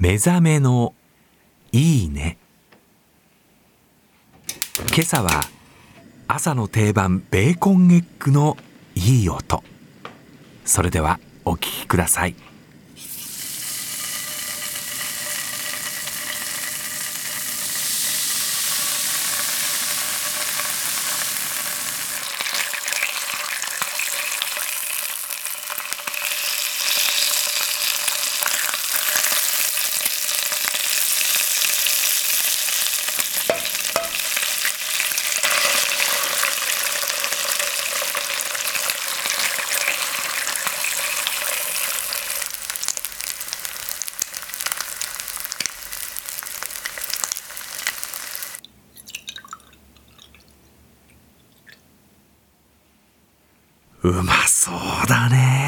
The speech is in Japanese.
目覚めのいいね。今朝は朝の定番ベーコンエッグのいい音。それではお聞きください。うまそうだね。